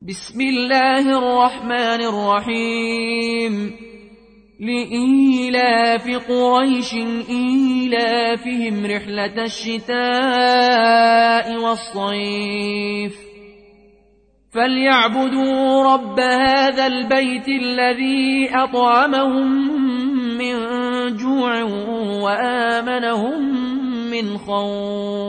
بسم الله الرحمن الرحيم لإيلاف قريش إيلافهم رحلة الشتاء والصيف فليعبدوا رب هذا البيت الذي أطعمهم من جوع وآمنهم من خوف